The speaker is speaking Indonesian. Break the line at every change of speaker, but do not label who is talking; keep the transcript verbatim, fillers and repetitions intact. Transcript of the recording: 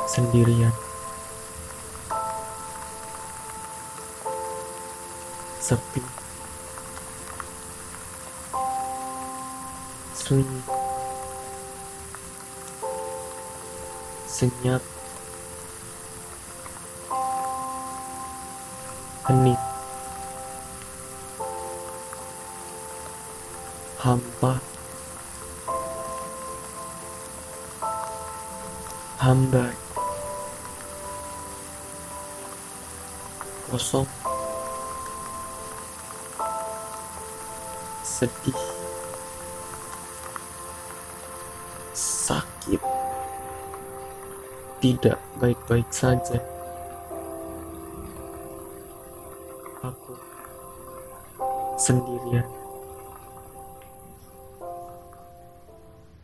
sendirian, sepi, sunyi, senyap, hening, hampa, hambar, kosong, sedih, sakit, tidak baik-baik saja. Aku sendirian.